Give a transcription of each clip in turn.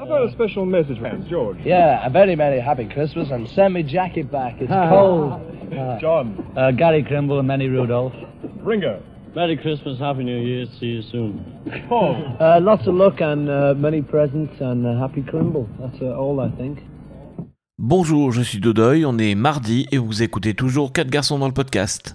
How about a special message from George? Yeah, a very, very happy Christmas and send me jacket back. It's cold. John. Gary Crimble and Manny Rudolph. Ringo. Merry Christmas, Happy New Year, see you soon. Paul. Lots of luck and many presents and happy Crimble. That's all I think. Bonjour, je suis Dodoy, on est mardi et vous écoutez toujours 4 garçons dans le podcast.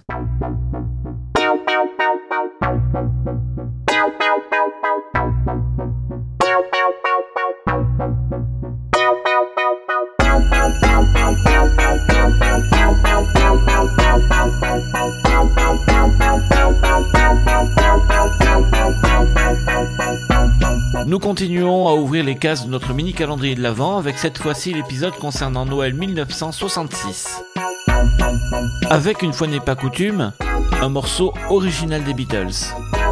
Nous continuons à ouvrir les cases de notre mini-calendrier de l'Avent avec cette fois-ci l'épisode concernant Noël 1966. Avec, une fois n'est pas coutume, un morceau original des Beatles.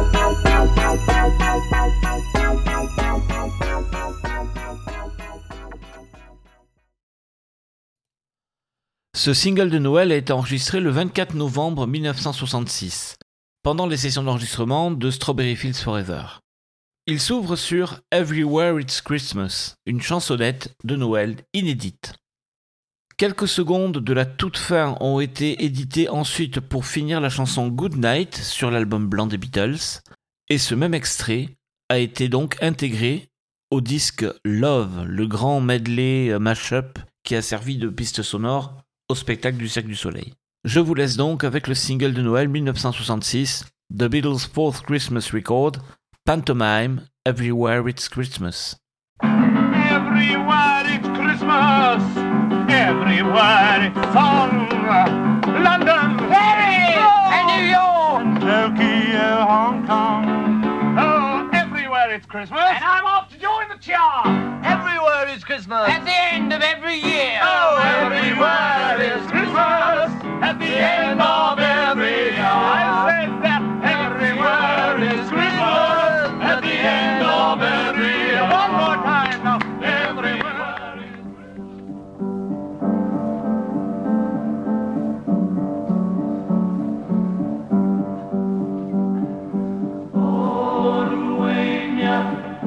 Ce single de Noël a été enregistré le 24 novembre 1966, pendant les sessions d'enregistrement de Strawberry Fields Forever. Il s'ouvre sur Everywhere It's Christmas, une chansonnette de Noël inédite. Quelques secondes de la toute fin ont été éditées ensuite pour finir la chanson Good Night sur l'album blanc des Beatles, et ce même extrait a été donc intégré au disque Love, le grand medley mash-up qui a servi de piste sonore au spectacle du Cirque du Soleil. Je vous laisse donc avec le single de Noël 1966, The Beatles' Fourth Christmas Record, Pantomime, Everywhere It's Christmas. Everywhere it's Christmas, everywhere it's song. London, Paris, and New York, Tokyo, Hong Kong. Oh, everywhere it's Christmas. And I'm off to join the chart. Everywhere is Christmas. At the end of every year. Oh, everywhere is Christmas. At the end of every year. I said that everywhere is Christmas. At the end of every year. One more time now. Everywhere is Orwenya,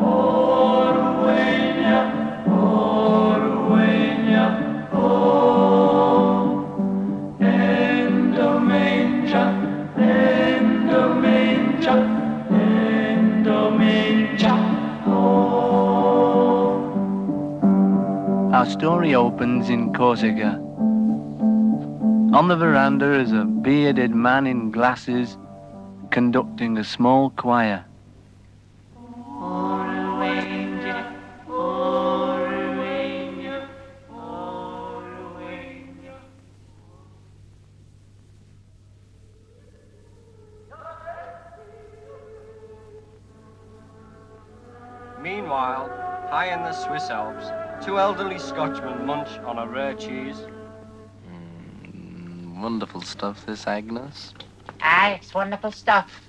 Orwenya, Orwenya, oh. Endomanger, Endomanger, Endomanger, oh. Our story opens in Corsica. On the veranda is a bearded man in glasses conducting a small choir. Orwenya, Orwenya, Orwenya. Meanwhile, high in the Swiss Alps, two elderly Scotchmen munch on a rare cheese. Wonderful stuff, this, Agnes. Aye, it's wonderful stuff.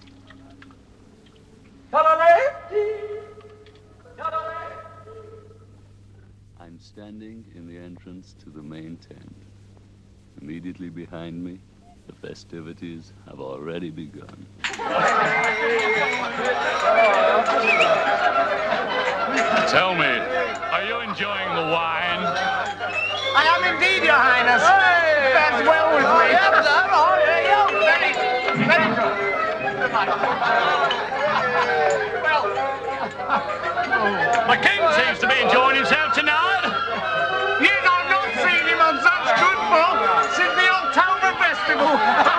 I'm standing in the entrance to the main tent. Immediately behind me, the festivities have already begun. Tell me, are you enjoying the wine? I am indeed, Your Highness. Fares well with me. Very good. The king seems to be enjoying himself tonight. Yet I've not seen him on such good form since the October Festival.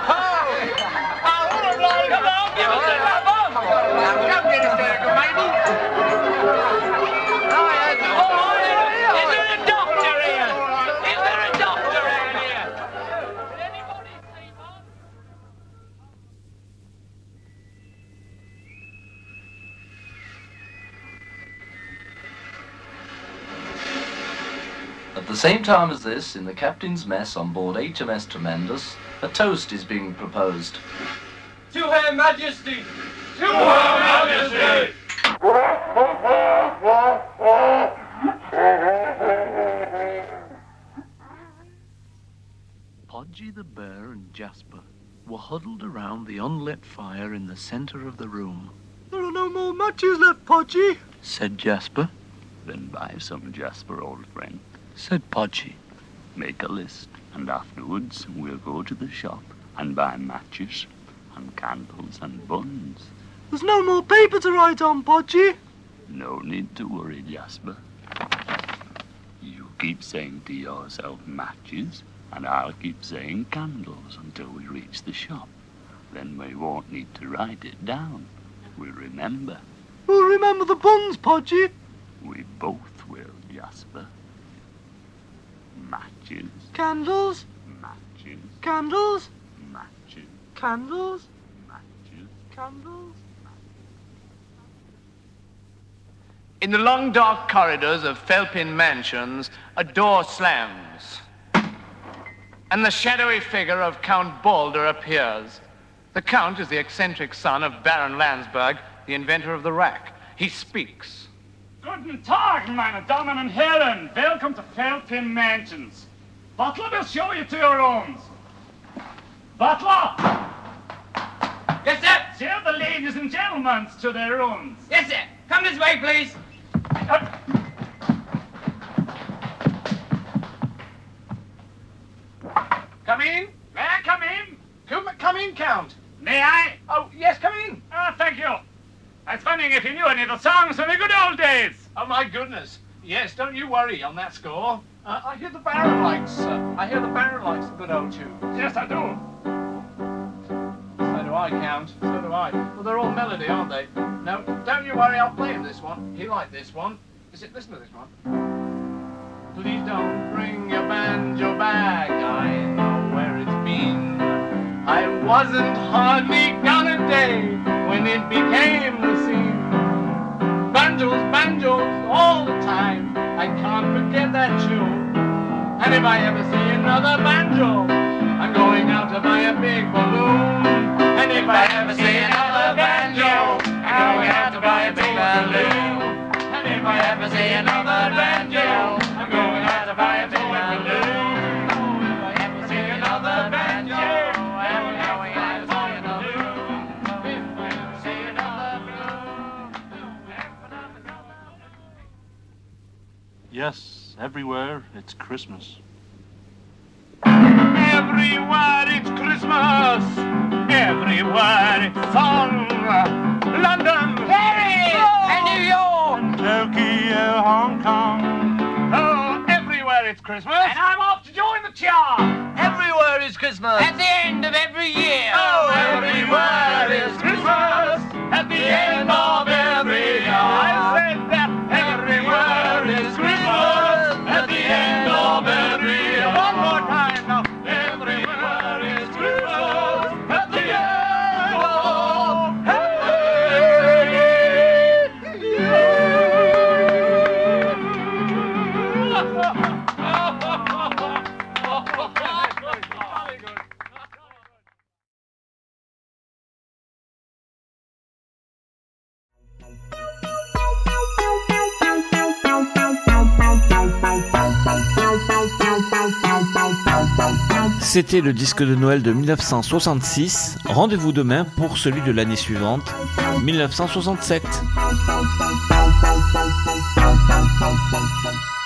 Come get us there, good baby. Is there a doctor here? Is there a doctor around here? Did anybody see one? At the same time as this, in the captain's mess on board HMS Tremendous, a toast is being proposed. To Her Majesty! To Her Majesty! Podgy the bear and Jasper were huddled around the unlit fire in the center of the room. There are no more matches left, Podgy, said Jasper. Then buy some, Jasper, old friend. Said Podgy. Make a list, and afterwards we'll go to the shop and buy matches and candles and buns. There's no more paper to write on, Podgy. No need to worry, Jasper. You keep saying to yourself matches, and I'll keep saying candles until we reach the shop. Then we won't need to write it down. We'll remember. We'll remember the buns, Podgy. We both will, Jasper. Matches, Candles, matches, candles, matches, candles, matches. candles. In the long dark corridors of Felpin Mansions, a door slams, and the shadowy figure of Count Balder appears. The Count is the eccentric son of Baron Landsberg, the inventor of the rack. He speaks. Guten Tag, meine Damen und Herren. Welcome to Felpin Mansions. Butler will show you to your rooms. Butler! Yes, sir. Show the ladies and gentlemen to their rooms. Yes, sir. Come this way, please. Come in. May I come in? Come in, Count. May I? Oh, yes, come in. Thank you. I was wondering if you knew any of the songs from the good old days. Oh, my goodness. Yes, don't you worry on that score. I hear the Baron likes the good old tunes. Yes, I do. So do I, Count. So do I. Well, they're all melody, aren't they? No, don't you worry. I'll play him this one. He liked this one. Listen to this one. Please don't bring your banjo back. I know where it's been. I wasn't hardly gone a day when it became the scene. Banjos, banjos, all the time. I can't forget that tune. And if I ever see another banjo, I'm going out to buy a big balloon. And if I ever see another banjo, I'm going out to buy a big balloon. And if I ever see another banjo, I'm going out to buy a big balloon. If I ever see another banjo, I'm going out to buy a balloon. If I ever see another balloon. Yes, everywhere it's Christmas. Everywhere it's Christmas. Everywhere it's song. London, Paris, and New York. Tokyo, Hong Kong. Oh, everywhere it's Christmas. And I'm off to join the chart. Everywhere is Christmas. At the end of every year. Oh, everywhere is Christmas. At the end of every year. I said that everywhere is Christmas. At the end of every year. One more time now. Everywhere is Christmas. At the end of C'était le disque de Noël de 1966. Rendez-vous demain pour celui de l'année suivante, 1967.